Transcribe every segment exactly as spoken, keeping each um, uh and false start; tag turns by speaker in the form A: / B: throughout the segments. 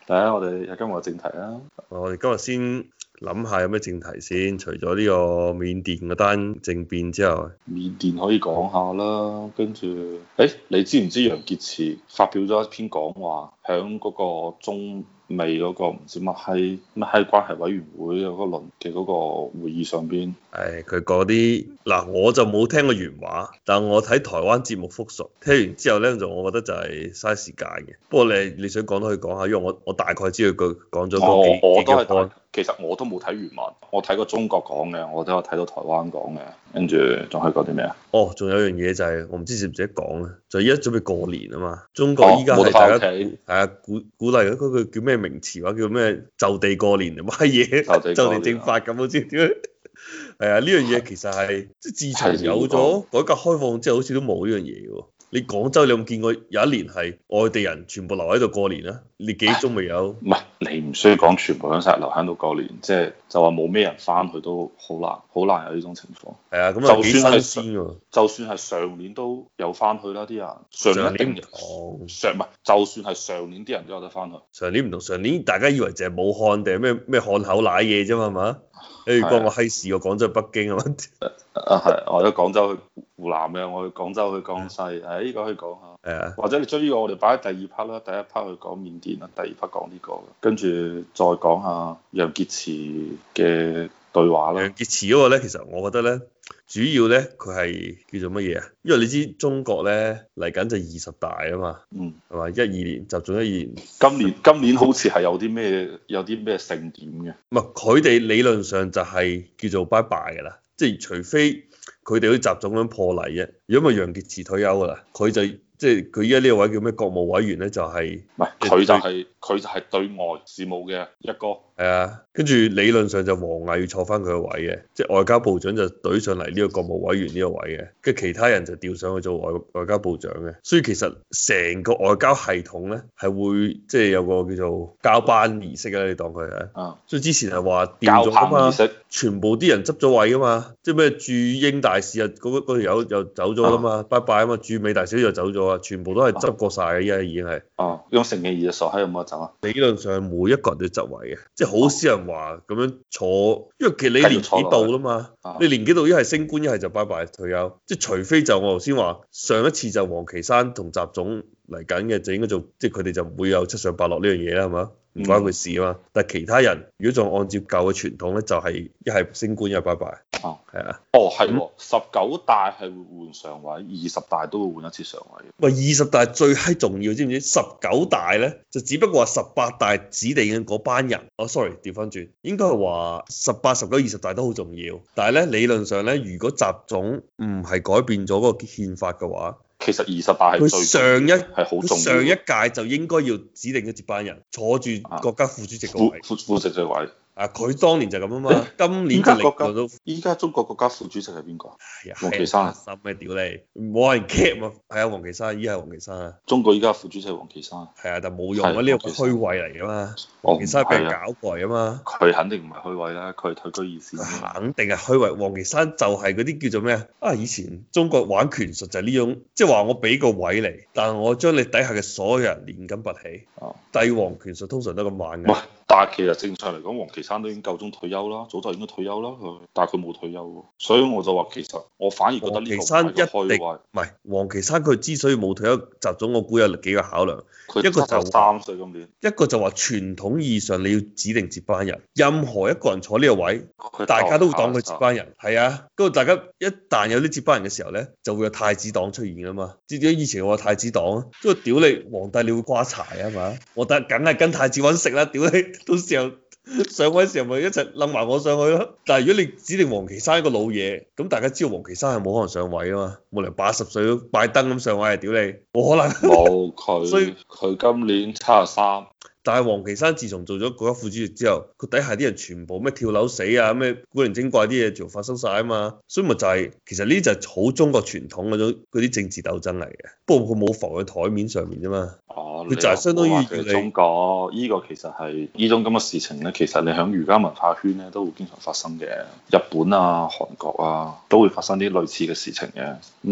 A: 第一，我哋有今日嘅正題啦。
B: 我哋今日先諗下有咩正題先，除咗呢個緬甸嗰單政變之後，
A: 緬甸可以講下啦，跟住，誒，你知唔知楊潔篪發表咗一篇講話，響嗰個中美嗰個唔知乜閪乜閪關係委員會嗰個輪嘅嗰個會議上邊？
B: 誒佢嗰啲嗱，我就冇聽過原話，但我睇台灣節目復述，聽完之後咧就我覺得就係嘥時間嘅。不過你你想講都可以講下，因為我我大概知道佢講咗嗰幾
A: 我我都係
B: 幾個 point。
A: 其實我都冇睇原文，我睇過中國講嘅，我都有睇到台灣講嘅，跟住仲可以講啲咩啊？
B: 哦，仲有樣嘢就係、是、我唔知識唔識得講咧，就依家準備過年啊嘛，中國依家係大家係啊鼓鼓勵嗰個叫咩名詞話叫咩就地過年定乜嘢就地正法咁好似點樣？係啊，呢樣嘢其實係即係自從有咗改革開放之後，好似都冇呢樣嘢喎。你廣州你有冇見過有一年係外地人全部留喺度過年啊？你幾宗未有？
A: 唔係，你唔需要講全部響晒留喺度過年，即係就話冇咩人翻去都好難，好難有呢種情況。
B: 係啊，咁
A: 就
B: 幾
A: 算係
B: 新鮮喎。
A: 就算係上年都有翻去啦，啲人上年一定
B: 哦，
A: 上唔係，就算係上年啲人都有得翻去。
B: 上年唔同，上年大家以為淨係武漢定係咩咩漢口瀨嘢啫嘛，係嘛？誒關我閪事，我廣州去北京啊嘛。
A: 啊係，我喺廣州去湖南嘅，我去廣州去江西，誒呢個可以講下。
B: 係啊，
A: 或者你將呢個我哋擺喺第二 part 啦，第一 part 去講緬甸啦，第二 part 講呢個，跟住再講下楊潔篪嘅對話啦。
B: 楊潔篪嗰個咧，其實我覺得咧，主要咧佢係叫做乜嘢啊？因為你知中國咧嚟緊就二十大啊嘛，
A: 嗯，
B: 係嘛？一二年集中一二年，
A: 今年今年好似係有啲咩有啲咩盛典嘅。
B: 唔係佢哋理論上就係叫做拜拜㗎啦，即係除非佢哋好似習總咁破例啫。如果咪楊潔篪退休㗎啦，佢就即係佢依家呢個位叫咩國務委員咧，就係
A: 唔係佢就係佢就係對外事務嘅一個。
B: 係啊，跟住理論上就王毅要坐翻佢個位嘅，即係外交部長就懟上嚟呢個國務委員呢個位嘅，跟住其他人就調上去做外外交部長嘅。所以其實成個外交系統咧係會即係有個叫做交班儀式啊，你當佢係啊。所以之前係話調咗啊嘛，全部啲人執咗位啊嘛，即係咩駐英大使啊嗰嗰條友又走咗啦嘛，拜拜啊嘛，駐美大使又走咗啊，全部都係執過晒嘅，依家已經係。
A: 哦，用成嘅二十傻閪有冇得走啊？
B: 理論上每一個人都執位嘅，即係好少人話咁樣坐，因為其實你年紀到啦嘛，你年紀到一係升官一係就拜拜退休，即係除非就我頭先話上一次就王岐山同習總嚟緊嘅，就應該做，即係佢哋就唔會有七上八落呢樣嘢啦，係嘛？唔關佢事啊嘛。但係其他人如果仲按照舊嘅傳統咧，就係一係升官一係拜拜。
A: 哦，
B: 係啊。
A: 哦，係喎，十九大係會換常委，二十大都會換一次常委。
B: 喂，二十大最閪重要，知唔知？十九大咧就只不過話十八大指定嘅嗰班人。哦，sorry，調翻轉，應該係話十八、十九、二十大都好重要。但係咧理論上咧，如果習總唔係改變咗嗰個憲法嘅話，
A: 其實二十大係
B: 佢上一
A: 係好重要。
B: 上一屆就應該要指定一接班人坐住國家副主席個位。
A: 副副主席位。
B: 啊！佢當年就咁啊嘛，今年就
A: 國家依家中國國家副主席係邊個？王岐山。心
B: 咩屌你？冇人 cap 啊！係啊，王岐山，依家係王岐山啊。
A: 中國依家副主席係王岐山。
B: 係啊，但冇用啊！呢個虛位嚟噶嘛。王岐山俾人搞過嚟啊嘛。
A: 佢肯定唔係虛位啦，佢係退居二線。
B: 肯定係虛位。王岐山就係嗰啲叫做咩啊？啊！以前中國玩權術就係呢種，即係話我俾個位嚟，但係我將你底下嘅所有人連根拔起。哦。帝王權術通常都咁玩嘅。
A: 但係其實正常嚟講，王岐山都已經夠鐘退休啦，早就應該退休啦佢，但係佢冇退休喎，所以我就話其實我反而覺得呢個唔係虛位。唔係王岐山佢之所以冇退休，習總我估有幾個考量，一個就三歲今年，一個就話傳統意義上你要指定接班人，任何一個人坐呢個位，大家都會當佢接班人，係啊，跟住大家一旦有啲接班人嘅時候咧，就會有太子黨出現啊嘛，知唔知以前我話太子黨啊，即係屌你皇帝你會瓜柴啊嘛，我得梗係跟太子揾食啦，屌你！到時候上位時候咪一齊冧埋我上去咯。但係如果你指定王岐山一個老嘢，咁大家知道王岐山係冇可能上位啊嘛，冇理由八十歲都拜登咁上位啊，屌你，冇可能。冇佢，所以佢今年七十三。
B: 但係王岐山自從做咗國家副主席之後，佢底下啲人全部咩跳樓死啊，咩古靈精怪啲嘢就發生晒啊嘛，所以咪就係、是、其實呢就係好中國傳統嗰種嗰啲政治鬥爭嚟嘅，不過佢冇浮喺台面上面啫嘛。哦，佢就係相當於要你
A: 中國依、這個其實係呢種咁嘅事情咧，其實你喺儒家文化圈咧都會經常發生嘅，日本啊、韓國啊都會發生啲類似嘅事情嘅。咁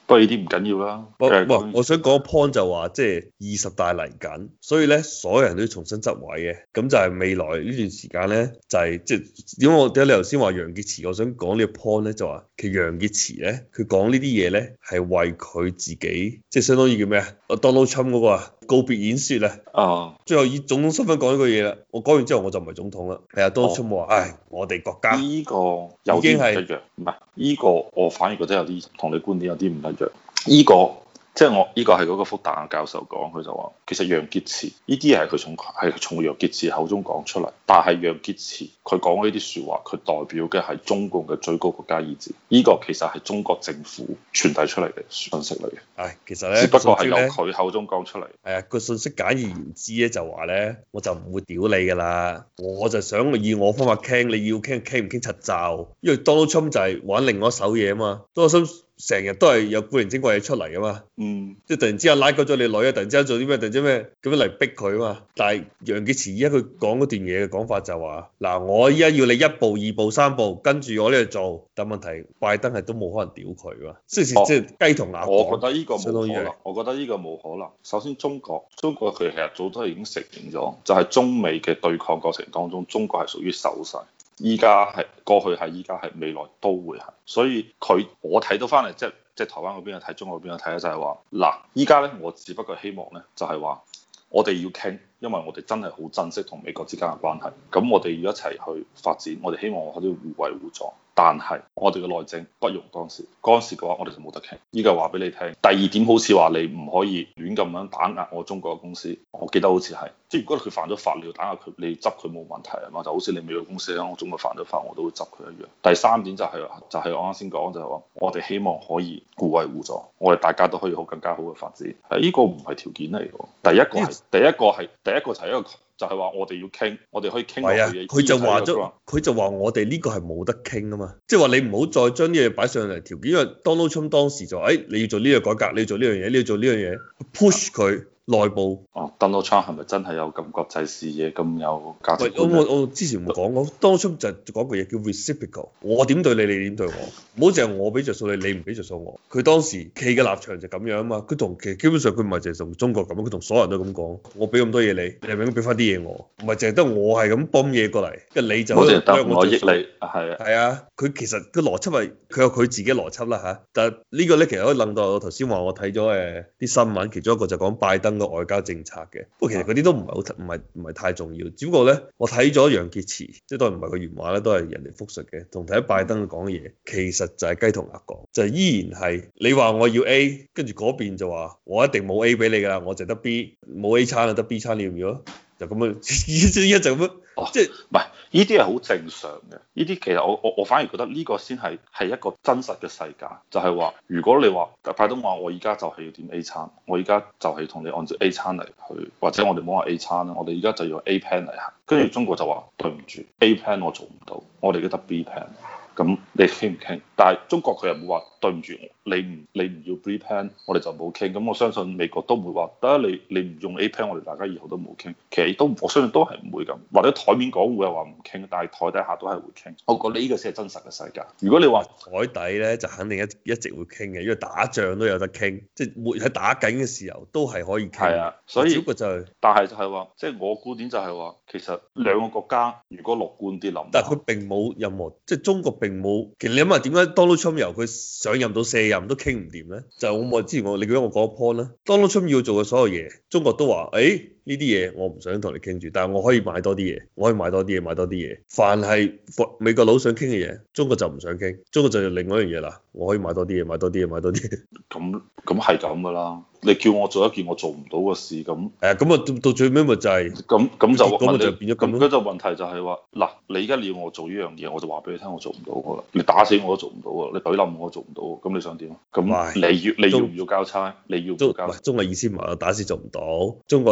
A: 不過呢啲唔緊要啦。
B: 我
A: 誒
B: 我我想講個 point 就話，即係二十大嚟緊，所以咧所有人都要重新執位嘅。咁就係未來呢段時間咧，就係即係點解我點解你頭先話楊潔篪？我想講呢個 point 咧，就話其實楊潔篪咧，佢講呢啲嘢咧係為佢自己，即係相當於叫咩啊？Donald Trump 嗰個啊告別演説啊，
A: 啊，
B: 最後以總統身份講呢句嘢啦。我講完之後我就唔係總統啦。係啊，Donald Trump 話：唉，我哋國家
A: 呢個有啲唔一樣，唔係呢個我反而覺得有啲同你觀點有啲唔一樣。呢個即係我呢個係嗰個復旦教授講，佢就話其實楊潔篪呢啲嘢係佢從係從楊潔篪口中講出嚟，但係楊潔篪佢講呢啲説話，佢代表嘅係中共嘅最高國家意志，呢個其實係中國政府傳遞出嚟嘅信息嚟嘅。
B: 唉，其實咧，
A: 只不過係由佢口中講出嚟。
B: 係啊，個信息簡而言之咧，就話咧，我就唔會屌你噶啦，我就想以我方法傾，你要傾傾唔傾柒就，因為 Donald Trump 就係玩另外一手嘢啊嘛，Donald Trump成日都係有古靈精怪嘢出嚟啊嘛，
A: 嗯，即
B: 係突然之間拉鳩咗你女啊，突然之間做啲咩，突然之間咩咁樣嚟逼佢啊嘛。但係楊潔篪依家佢講嗰段嘢嘅講法就話，嗱，我依家要你一步二步三步跟住我呢度做，但問題拜登係都冇可能屌佢啊，即係即係雞同鴨。
A: 我覺得呢個冇可能，我覺得呢個冇可能。首先中國，中國佢其實早都已經承認咗，就係中美嘅對抗過程當中，中國係屬於守勢。依家係過去係，依家係，未來都會係。所以佢我睇到翻嚟，即係即係台灣嗰邊睇，中國嗰邊睇咧，就係話嗱，依家咧我只不過希望咧，就係話我哋要傾，因為我哋真係好珍惜同美國之間嘅關係。咁我哋要一齊去發展，我哋希望我哋要互惠互助。但係我哋嘅內政不容干涉，干涉嘅話我哋就冇得傾。依家話俾你聽。第二點好似話你唔可以亂咁樣打壓我中國嘅公司，我記得好似係，即係如果佢犯咗法，你要打壓佢，你執佢冇問題啊嘛，就好似你美國公司喺我中國犯咗法，我都會執佢一樣。第三點就係、是、就係、是、我啱先講就係話，我哋希望可以互惠互助，我哋大家都可以好更加好嘅發展。係、這、呢個唔係條件嚟嘅，第一個係第一個係第一個就係一個就係話我哋要傾，我哋可以傾落去嘅。
B: 佢就話咗，佢就話我哋呢個係冇得傾啊嘛，即係話你唔好再將啲嘢擺上嚟條件，因為 Donald Trump 當時就誒、哎、你要做呢個改革，你要做呢樣嘢，你要做呢樣嘢 push 佢。內部
A: 哦，Donald Trump 係咪真係有咁國際視野、咁有價值觀？
B: 我我我之前冇講過，Donald Trump就講句嘢叫 reciprocal，我點對你，你點對我，唔好淨係我俾着數你，你唔俾着數我。佢當時企嘅立場就咁樣啊嘛，佢同其實基本上佢唔係淨係同中國咁，佢同所有人都咁講，我俾咁多嘢你，你係咪應該俾翻啲嘢我？唔係淨係得我係咁泵嘢過嚟，跟住你就
A: 我淨係得我益你，係啊，
B: 係啊，佢其實個邏輯係佢有佢自己邏輯啦嚇，但係呢個咧其實可以諗到我頭先話我睇咗誒啲新聞，其中一個就講拜登嘅外交政策。不過其實嗰啲都唔係好唔係唔係太重要，只不過咧我睇咗楊潔篪，即係當然唔係個原話咧，都係人哋複述嘅，同睇拜登講嘅嘢，其實就係雞同鴨講，就係依然係你話我要 A，跟住嗰邊就話我一定冇 A 俾你㗎啦，我淨得 B，冇 A 餐啊，得 B 餐你要唔要啊？就咁樣，依家就咁樣，哦、即係
A: 唔係？呢啲係好正常嘅。呢啲其實我我我反而覺得呢個先係係一個真實嘅世界，就係、是、話如果你話拜登話我而家就係要點 A 餐，我而家就係同你按照 A 餐嚟去，或者我哋唔好話 A 餐啦，我哋而家就要用 A plan 嚟行。跟住中國就話對唔住 ，A plan 我做唔到，我哋而家得 B plan。咁你傾唔傾？但係中國佢又冇話對唔住，你唔你唔要 B plan，我哋就冇傾。咁我相信美國都唔會話得你你唔用 A plan，我哋大家以後都冇傾。其實都我相信都係唔會咁，或者台面講會係話唔傾，但係台底下都係會傾。我覺得呢個先係真實嘅世界。如果你話
B: 台底咧，就肯定一一直會傾嘅，因為打仗都有得傾，即係會喺打緊嘅時候都係可以傾。
A: 係啊，所以
B: 只不過就係、
A: 但係就係話，即係我觀點就係話，其實兩個國家如果樂觀啲諗，
B: 但係佢並冇任何，即係中國並冇。其實你諗下點解 Donald Trump 由佢上任到卸任都傾唔掂咧？就我我之前我你記得我講個 point 啦，Donald Trump 要做嘅所有嘢，中國都話誒。呢啲嘢我唔想同你傾住，但係我可以買多啲嘢，我可以買多啲嘢，買多啲嘢。凡係美國佬想傾嘅嘢，中國就唔想傾，中國就另外一樣嘢啦。我可以買多啲嘢，買多啲嘢，買多啲嘢。
A: 咁咁係咁噶啦。你叫我做一件我做唔到嘅事，咁
B: 誒咁啊到到最尾咪就係
A: 咁咁就
B: 咁就變咗咁
A: 咯。咁就問題就係話嗱，你而家你要我做呢樣嘢，我就話俾你聽，我做唔到噶啦。你打死我都做唔到噶，你懟冧我都做唔到。咁你想點啊？咁你要你要唔要交差？你要唔要交差？
B: 中國意思唔係打死做唔到，中國咧就話。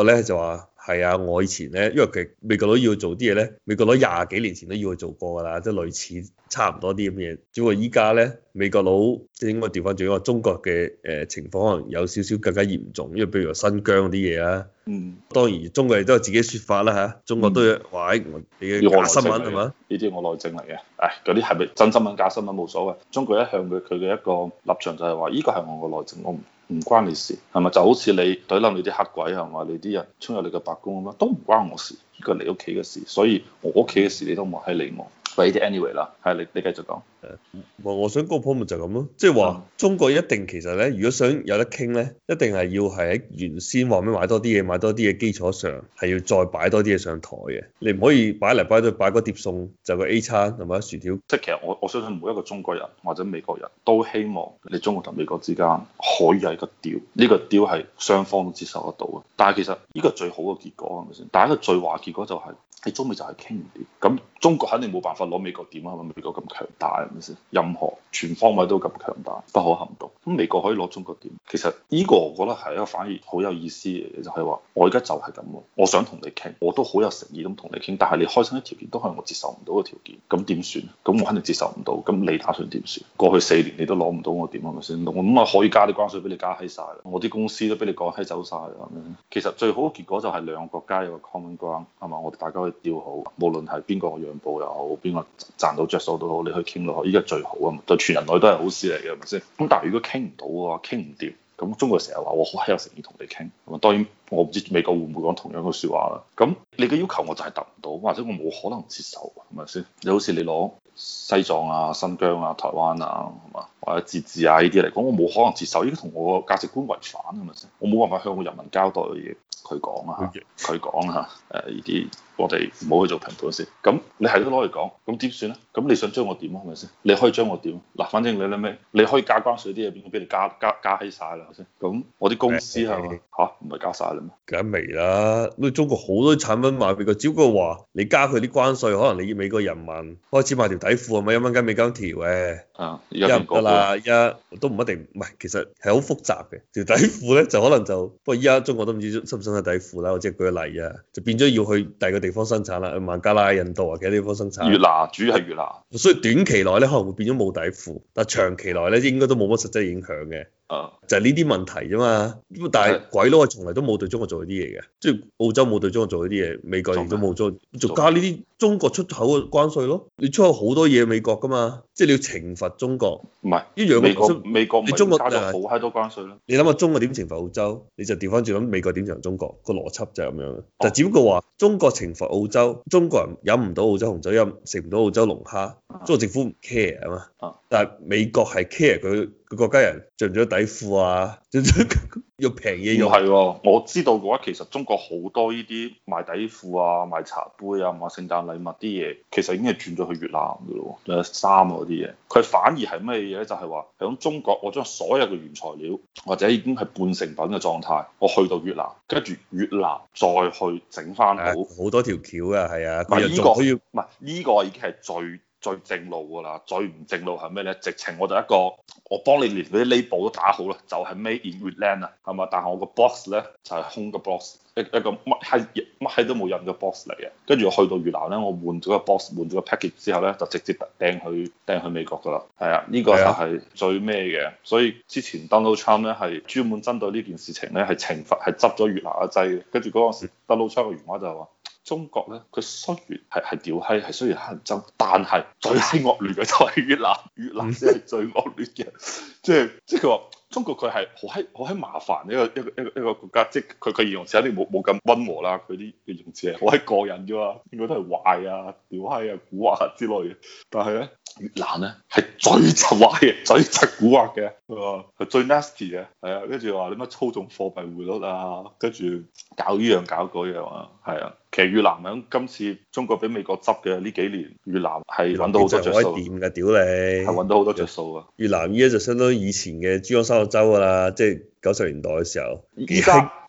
B: 話係啊，我以前咧，因為其實美國佬要做啲嘢咧，美國佬廿幾年前都要去做過㗎啦，即係類似差唔多啲咁嘅嘢。只不過依家咧，美國佬即係應該調翻轉，因為中國嘅誒情況可能有少少更加嚴重，因為譬如話新疆嗰啲嘢啊。
A: 嗯。
B: 當然中國亦都有自己説法啦嚇，中國都有話誒，你嘅假新聞係嘛？
A: 呢啲我內政嚟嘅，誒嗰啲係咪真新聞假新聞冇所謂。中國一向嘅佢嘅一個立場就係話，呢個係我個內政，我唔唔關你事，係咪？就好似你懟冧你啲黑鬼係嘛，你啲人衝入你嘅白宮咁樣，都唔關我事，呢個係你屋企嘅事，所以我屋企嘅事你都唔好喺理我。喂，啲 anyway 啦，係你你繼續講。
B: 誒，我我想嗰個 point 就係咁咯，即係話中國一定其實咧，如果想有得傾咧，一定係要係喺原先話咩買多啲嘢，買多啲嘢基礎上，係要再擺多啲嘢上台嘅。你唔可以擺嚟擺去擺嗰碟餸就個 A 餐係咪薯條？
A: 即係其實我我相信每一個中國人或者美國人都希望你中國同美國之間可以有一個 deal，呢個 deal 係雙方都接受得到嘅。但係其實呢個最好嘅結果係咪先？但係一個最壞結果就係、是。你中美就係傾唔掂，咁中國肯定冇辦法攞美國點啊？係咪美國咁強大係咪先？任何全方位都咁強大，不可撼動。咁美國可以攞中國點？其實呢個我覺得係一個反而好有意思嘅嘢，就係話我而家就係咁喎，我想同你傾，我都好有誠意咁同你傾，但係你開新啲條件都係我接受唔到嘅條件，咁點算？咁我肯定接受唔到，咁你打算點算？過去四年你都攞唔到我點係咪先？我咁啊可以加啲關稅俾你加閪晒啦，我啲公司都俾你趕閪走晒啦。其實最好嘅結果就係兩個國家有個 common ground 係嘛？我哋大家可以調好。無論係邊個讓步又好，邊個賺到着數都好，你去傾落去，依家最好啊嘛，對全人類都係好事嚟嘅，係咪先？咁但係如果傾唔到嘅話，傾唔掂，咁中國成日話我好閪有誠意同你傾，咁啊當然我唔知美國會唔會講同樣嘅説話啦。咁你嘅要求我就係達唔到，或者我冇可能接受，係咪先？你好似你攞西藏啊、新疆啊、台灣啊，係嘛，或者自治啊呢啲嚟講，我冇可能接受，依家同我個價值觀違反，係咪先？我冇辦法向我人民交代嘅嘢，佢講啊，佢講啊，誒呢啲。我哋唔好去做評判先，咁你係都攞嚟講，咁點算咧？咁你想將我點啊？係咪先？你可以將我點？嗱，反正你諗咩？你可以加關稅啲嘢，邊個俾你加加加起晒啦？係咪先？咁我啲公司係嘛嚇，唔係加晒啦咩？
B: 梗未啦，咁中國好多產品賣美國，只不過話你加佢啲關稅，可能你美國人民開始買條底褲係咪一蚊雞美金條嘅？
A: 啊，
B: 而家唔得啦，而家都唔一定，唔係，其實係好複雜嘅。條底褲咧就可能就，不過依家中國都唔知識唔識得底褲啦，我即係舉個例啊，就變咗要去第二個地方生產啦，去孟加拉、印度啊，其他地方生產。
A: 越南主要係越南，
B: 所以短期內咧可能會變咗冇底褲，但係長期內咧應該都冇乜實際影響嘅。
A: 啊，
B: 就係呢啲問題啫嘛。咁但係鬼佬係從來都冇對中國做呢啲嘢嘅，即係澳洲冇對中國做呢啲嘢，美國亦都冇做，就加呢啲中國出口嘅關稅咯。你出口好多嘢美國㗎嘛，即係你要懲罰中國。
A: 唔係
B: 一樣嘅。
A: 美國美國
B: 你中國
A: 加咗好閪多關稅咯。
B: 你諗下中國點懲罰澳洲，你就調翻轉諗美國點懲罰中國，個邏輯就係咁樣。就只不過話中國懲罰澳洲，中國人飲唔到澳洲紅酒，飲食唔到澳洲龍蝦，中國政府唔 care 啊嘛。但係美國係 care 佢個國家人着唔着底褲啊，要平嘢用。
A: 係喎，我知道嘅話，其實中國好多呢啲賣底褲啊、賣茶杯啊、賣聖誕禮物啲嘢，其實已經係轉咗去越南㗎咯，仲有衫嗰啲嘢。佢反而係咩嘢咧？就係話喺中國，我將所有嘅原材料或者已經係半成品嘅狀態，我去到越南，跟住越南再去整翻好。
B: 好多條橋啊，係啊。
A: 唔係呢個，唔係呢個已經係最最正路㗎啦。最唔正路係咩咧？直情我就一個，我幫你連嗰啲 label 都打好啦，就係、是、made in Vietnam 啊，係嘛？但係我個 box 咧就係、是、空嘅 box，一一個乜閪乜閪都冇印嘅 box 嚟嘅。跟住我去到越南咧，我換咗個 box，換咗個 package 之後咧，就直接掟去掟去美國㗎啦。係啊，呢、這個就係最咩嘅。所以之前 Donald Trump 咧係專門針對呢件事情咧係懲罰係執咗越南一劑嘅。跟住嗰陣時 Donald Trump 嘅原話就係話。中國咧，佢雖然係係屌閪，係雖然乞人憎，但係最閪惡劣嘅就係越南，越南先係最惡劣嘅。即係即係佢話中國佢係好閪好閪麻煩一個一個一個一個國家，即係佢佢形容詞肯定冇冇咁溫和啦，佢啲形容詞係好閪過癮啫嘛，應該都係壞啊、屌閪啊、蠱惑啊之類嘅。但係咧，越南咧係最柒壞嘅，最柒蠱惑嘅，係最 nasty 嘅，係啊，跟住話你乜操縱貨幣匯率啊，跟住搞呢樣搞嗰樣啊，係啊。其實越南響今次中國俾美國執嘅呢幾年，越南係揾到好多着數。
B: 掂㗎，屌你！
A: 係揾到好多着數啊！
B: 越南依家就相當於以前嘅珠江三角洲㗎啦，即係九十年代嘅時候。
A: 依家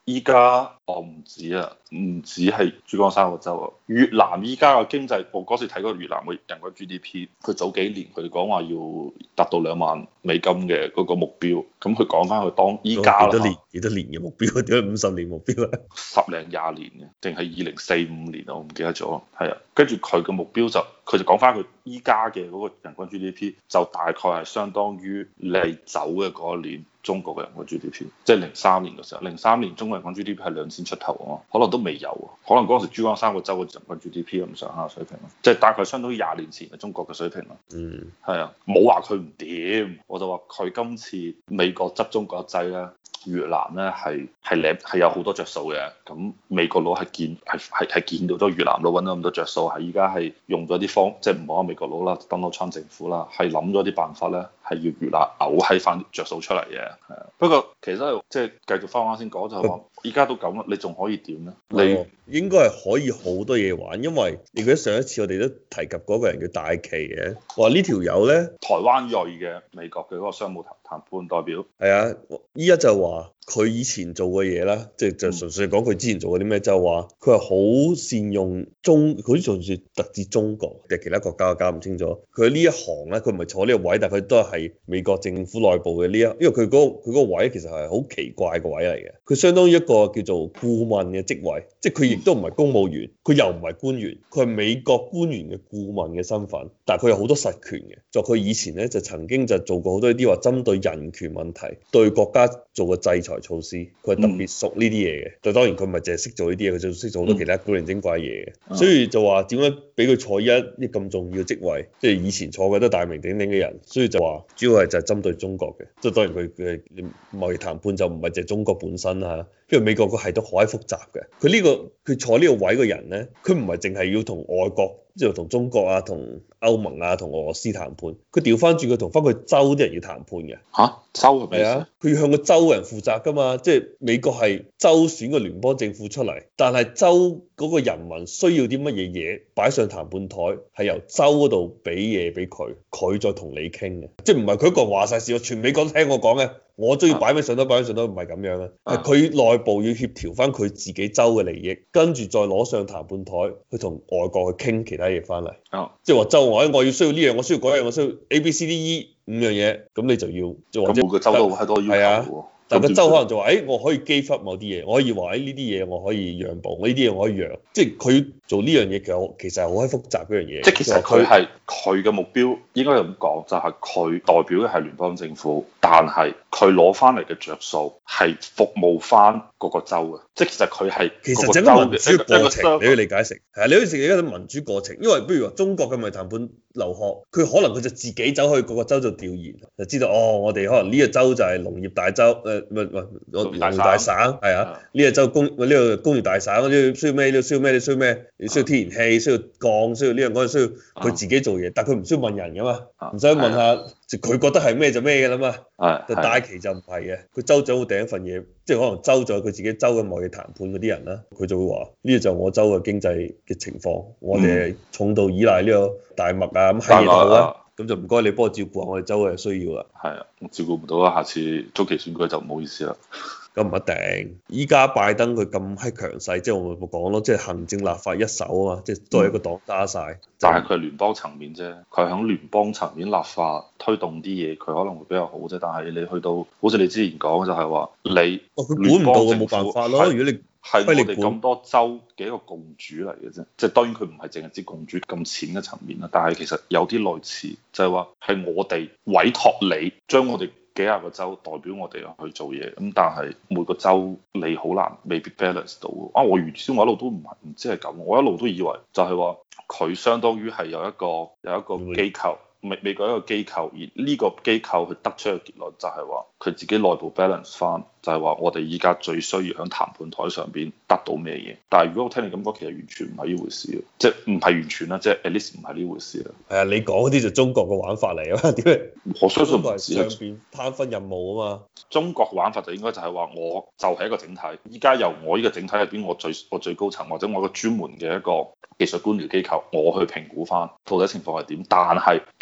A: 依家我唔止啊，唔止係珠江三角洲啊，越南依家嘅經濟，我嗰時睇過越南嘅人均 G D P，佢早幾年佢哋講話要達到兩萬美金嘅嗰個目標，咁佢講翻佢當依家
B: 幾多年幾多年嘅目標？點解五十年目標啊？
A: 十零廿年嘅，定係二零四五年啊？我唔記得咗。係啊，跟住佢嘅目標就佢就講翻佢依家嘅嗰個人均 G D P 就大概係相當於你走嘅嗰一年中國嘅人均 G D P，即係零三年嘅時候，零三年中國人均 G D P 係兩千出頭啊，可能都未有啊，可能嗰陣時珠江三角洲嘅人均 G D P 咁上下水平咯，即係大概相當於廿年前嘅中國嘅水平咯。
B: 嗯，
A: 係啊，冇話佢唔掂，我就話佢今次美國執中國一劑咧。越南咧係係領係有好多着數嘅，咁美國佬係見係係係見到咗越南佬揾到咁多着數，係依家係用咗啲方，即係唔好話美國佬啦，Donald Trump政府啦，係諗咗啲辦法咧，係要越南嘔喺翻着數出嚟嘅。係啊，不過其實即係繼續翻啱先講就係話，依家都咁啦，你仲可以點咧？
B: 你應該係可以好多嘢玩，因為你記得上一次我哋都提及嗰個人叫戴琪嘅，話呢條友咧
A: 台灣裔嘅美國嘅嗰個商務談談判代表。
B: 係啊，依家就話。佢以前做嘅嘢啦，即係就純粹講佢之前做過啲咩，就話佢係好善用中，佢好似仲係特指中國定其他國家，我搞唔清楚。佢呢一行咧，佢唔係坐呢個位，但係佢都係美國政府內部嘅呢一，因為佢嗰佢嗰個位其實係好奇怪個位嚟嘅，佢相當於一個叫做顧問嘅職位，即係佢亦都唔係公務員，佢又唔係官員，佢係美國官員嘅顧問嘅身份，但係佢有好多實權嘅。就佢以前咧就曾經就做過好多啲話針對人權問題對國家做過制裁措施，佢係特別熟呢啲嘢嘅。就當然佢唔係淨係識做呢啲嘢，佢仲識做好多其他古靈精怪嘢嘅。所以就話點解俾佢坐一啲咁重要嘅職位，即係以前坐嘅都大名鼎鼎嘅人，所以就話主要係就係針對中國嘅。即係當然佢嘅貿易談判就唔係淨係中國本身啦，因為美國個系統好閪複雜嘅。佢呢個佢坐呢個位嘅人咧，佢唔係淨係要同外國。即係同中國啊、同歐盟啊、同俄羅斯談判，佢調翻轉佢同翻佢州啲人要談判嘅。
A: 嚇、啊，州係咩？係啊，
B: 佢要向個州嘅人負責㗎嘛。即係美國係州選個聯邦政府出嚟，但係州嗰個人民需要啲乜嘢嘢擺上談判台，係由州嗰度俾嘢俾佢，佢再同你傾嘅。即係唔係佢一個話晒事，全美國都聽我講嘅。我中意擺咩上都擺上都唔係咁樣啊，係佢內部要協調翻佢自己州嘅利益，跟住再攞上談判台去同外國去傾其他嘢翻嚟。哦，即係話州我我要需要呢樣，我需要嗰樣，我需要 A B C D E 五樣嘢，咁你就要就或者
A: 每個州都好多要求。
B: 但個州可能就話，誒、欸，我可以 give up某啲嘢，我可以話，誒呢啲嘢我可以讓步，呢啲嘢我可以讓，即係佢做呢樣嘢其實其實係好閪複雜嗰樣嘢。
A: 即係其實佢係佢嘅目標應該咁講，就係、是、佢代表嘅係聯邦政府，但係佢攞翻嚟嘅着數係服務翻嗰個州嘅，即係其實佢係
B: 其實整個民主嘅過程，你要理解成係啊，你好似而家啲民主過程，因為不如話中國嘅咪談判留學，佢可能佢就自己走去嗰個州做調研，就知道哦，我哋可能呢個州就係農業大州，誒唔係唔係農業大省，係啊，呢個州工呢個工業大省，呢需要咩？呢需要咩？你需要咩？你需要天然氣，需要鋼，需要呢樣嗰樣，需要佢自己做嘢，但係佢唔需要問人噶嘛，唔使問下，就佢覺得係咩就咩嘅啦嘛。但戴琪就唔係嘅，佢州長會訂一份嘢，即係可能州長佢自己州嘅貿易談判嗰啲人啦，佢就會話呢個就我州嘅經濟嘅情況，我哋重度依賴呢個大麥啊咁閪嘢都好啦，咁就唔該你幫我照顧下我哋州嘅需要啦。
A: 係啊，我照顧唔到啊，下次中期選舉就唔好意思啦。
B: 咁唔一定，依家拜登佢咁閪強勢，即係我咪講咯，即係行政立法一手啊嘛，即係都係一個黨揸晒。嗯、
A: 但係佢係聯邦層面啫，佢係響聯邦層面立法推動啲嘢，佢可能會比較好啫。但係你去到，好似你之前講就係話，你
B: 哦佢管唔到嘅冇辦法咯。如果你
A: 係我哋咁多州嘅一個共主嚟嘅啫，即係當然佢唔係淨係指共主咁淺嘅層面啦，但係其實有啲類似，就係話係我哋委託你將我哋幾廿個州代表我哋去做嘢，咁但係每個州你好難未必 balance 到啊！我原先我一路都唔係唔知係咁，我一路都以為就係話佢相當於係有一個有一個機構。美美國一個機構，而呢個機構佢得出嘅結論就係話佢自己內部 balance 翻，就係話我哋依家最需要喺談判台上邊得到咩嘢。但係如果我聽你咁講，其實完全唔係呢回事，即係唔係完全啦，即係 at least 唔係呢回事啦。
B: 係啊，你講嗰啲就中國嘅玩法嚟啊嘛？點解？
A: 我相信唔
B: 係上邊攤分任務啊嘛。
A: 中國嘅玩法就應該就係話，我就係一個整體，依家由我呢個整體入邊，我最我最高層或者我個專門嘅一個技術官僚機構，我去評估翻到底情況係點。但係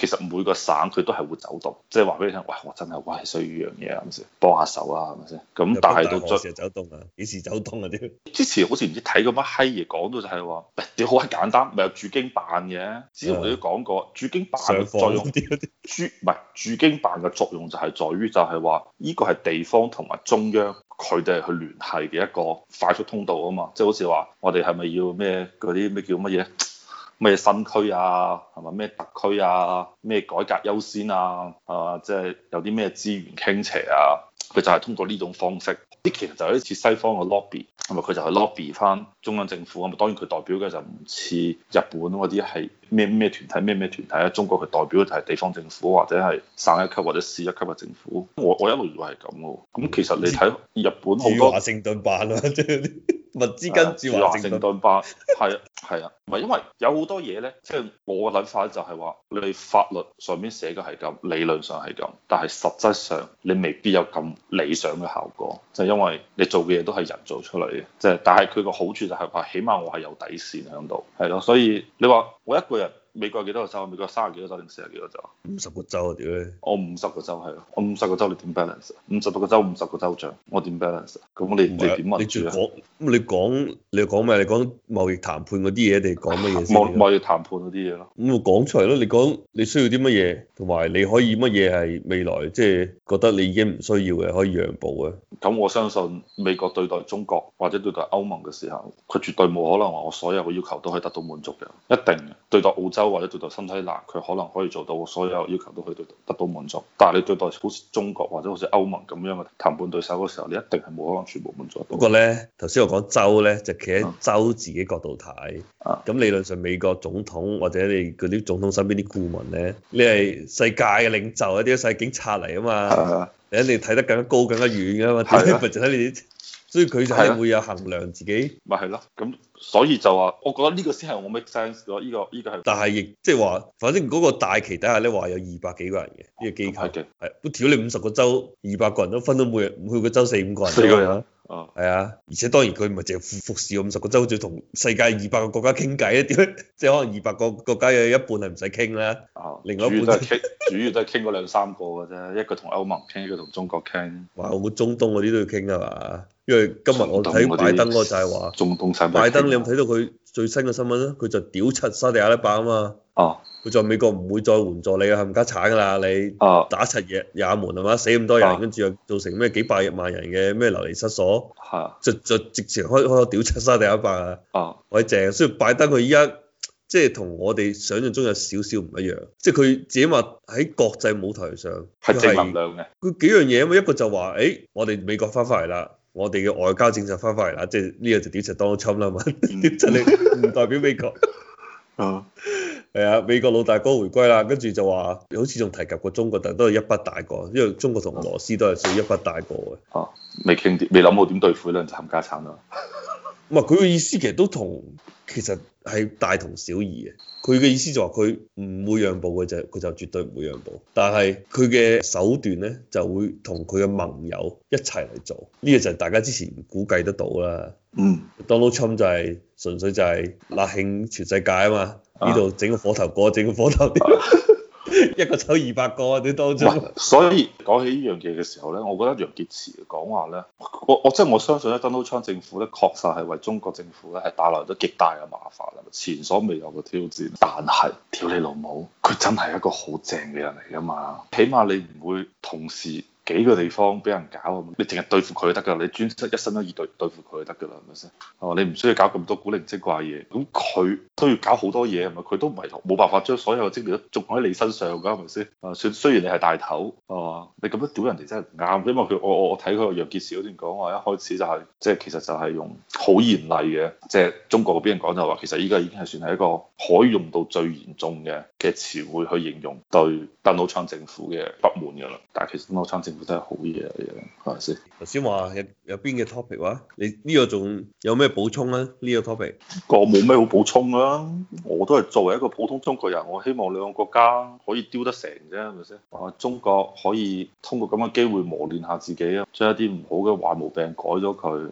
A: 其實每個省佢都係會走動，即係話俾你聽，喂，我真係喂需要呢樣嘢，係咪先？幫下手啊，係咪先？咁但係到最
B: 時走動啊，幾時走動啊？啲
A: 之前好似唔知睇過乜閪嘢講到就係話，屌好係簡單，咪有駐京辦嘅。之前我哋都講過，駐京辦嘅作用，駐唔係駐京辦嘅作用就係在於就係話，呢個係地方同埋中央佢哋去聯繫嘅一個快速通道啊嘛，即係好似話我哋係咪要咩嗰啲咩叫乜嘢？咩新區啊，係咪咩特區啊，咩改革優先啊，啊，即係有啲咩資源傾斜啊，佢就係通過呢種方式。啲其實就係似西方嘅 lobby，係咪佢就係 lobby 翻中央政府啊？當然佢代表嘅就唔似日本嗰啲係咩咩團體咩咩團體啊。中國佢代表嘅就係地方政府或者係省一級或者市一級嘅政府。我我一路以為係咁嘅。咁其實你睇日本好多
B: 華盛頓辦啊，即係啲物資跟住華盛頓
A: 辦，係啊係啊，唔係因為有好多嘢咧，即係我嘅諗法就係話，你法律上面寫嘅係咁，理論上係咁，但係實質上你未必有咁理想嘅效果，就係因為你做嘅嘢都係人做出嚟嘅，即係但係佢個好處就係話，起碼我係有底線喺度，係咯，所以你話我一個人。美國幾多個州？美國三十幾個州定四十幾個州？
B: 五十個州啊！屌你！
A: 我五十個州係咯，我五十個州你點 balance？五十個州五十個州長，我點 balance？咁你你點民主啊？
B: 你講咁你講你講咩？你講貿易談判嗰啲嘢定講乜嘢先？
A: 貿貿易談判嗰啲嘢咯。
B: 咁我講出嚟咯，你講你需要啲乜嘢，同埋你可以乜嘢係未來即係覺得你已經唔需要嘅，可以讓步嘅。
A: 咁我相信美國對待中國或者對待歐盟嘅時候，佢絕對冇可能話我所有嘅要求都可以得到滿足嘅，一定嘅。對待澳洲或者對待新西蘭，佢可能可以做到所有要求都可以得得到滿足。但係你對待好似中國或者好似歐盟咁樣嘅談判對手嘅時候，你一定係冇可能全部滿足到。
B: 不過咧，頭先我講州咧，就企喺州自己角度睇。咁、嗯、理論上美國總統或者你嗰啲總統身邊啲顧問咧，你係世界嘅領袖，一啲世警察嚟啊嘛。你一定睇得更加高、更加遠噶嘛。點解咪就睇你啲？所以佢就係會有衡量自己，
A: 咪係咯，咁所以就話，我覺得呢個先係我 make sense 咯，呢個呢個係。
B: 但係亦即係話，反正嗰個大旗底下咧話有二百幾個人嘅呢個機構，係係，都屌你五十個州，二百個人都分到每日每個州四五個人，
A: 四個人，
B: 啊，係啊，而且當然佢唔係淨係服服侍五十個州，仲要同世界二百個國家傾偈啊，點即係可能二百個國家有一半係唔使傾啦，啊，另外一半
A: 都係傾，主要都係傾嗰兩三個嘅啫，一個同歐盟傾，一個同中國傾。
B: 哇，我估中東嗰啲都要傾啊嘛。因為今日我睇拜登嗰個就係話，
A: 中東產
B: 拜登你有冇睇到佢最新嘅新聞咧？佢就屌柒沙地阿拉伯啊嘛。哦。佢就美國唔會再援助你啊，冚家鏟噶啦，你打柒也也門係嘛，死咁多人，跟住又造成咩幾百萬人嘅咩流離失所。係。就就直情開開口屌柒沙地阿拉伯啊。哦。我係正，所以拜登佢依家即係同我哋想象中有少少唔一樣，即係佢自己話喺國際舞台上
A: 係正能量嘅。
B: 佢幾樣嘢啊嘛，一個就話，誒，我哋美國翻返嚟啦。我哋嘅外交政策翻返嚟啦，即係呢個就屌柒 Donald Trump 啦嘛，屌柒你唔代表美國。啊，係啊，美國老大哥回歸啦，跟住就話好似仲提及過中國，但都係一筆帶過，因為中國同俄羅斯都係屬於一筆帶過嘅。哦、啊，
A: 未傾掂，未諗好點對付呢兩隻冚家產啊。
B: 唔係佢嘅意思，其實都同其實係大同小異嘅。佢嘅意思就話佢唔會讓步嘅就佢就絕對唔會讓步，但係佢嘅手段咧就會同佢嘅盟友一齊嚟做。呢、這個就係大家之前估計得到啦。嗯，Donald Trump 就係、是、純粹就係納慶全世界啊嘛，呢度整個火頭過，整個火頭一個抽二百個啲當中。
A: 所以講起呢樣嘢嘅時候咧，我覺得楊潔篪嘅講話咧，我我即係我相信咧，Donald Trump 政府咧確實係為中國政府咧係帶來咗極大嘅麻煩，前所未有嘅挑戰。但係，屌你老母，佢真係一個好正嘅人嚟噶嘛，起碼你唔會同時幾個地方俾人搞，你淨係對付佢就得㗎，你專一心一意對對付佢就得㗎啦，係咪先？哦，你唔需要搞咁多古靈精怪嘢，咁佢都要搞好多嘢，係咪？佢都唔係冇辦法將所有嘅精力都種喺你身上㗎，係咪先？啊，雖雖然你係大頭，啊，你咁樣屌人哋真係唔啱，因為佢我我我睇佢個楊潔篪嗰段講話，一開始就係即係其實就係用好嚴厲嘅，即係中國嗰邊人講就話，其實依家已經係算係一個可以用到最嚴重嘅嘅詞彙去形容對 Donald Trump 政府嘅不滿㗎啦。但係其實 Donald Trump 政府真係好嘢嚟嘅，係咪先？
B: 頭先話有有邊嘅 topic 話，你呢個仲有咩補充咧？呢個 topic
A: 個冇咩好補充啦，我都係作為一個普通中國人，我希望兩個國家可以丟得成啫，係咪先？啊，中國可以通過咁嘅機會磨練下自己啊，將一啲唔好嘅壞毛病改咗佢，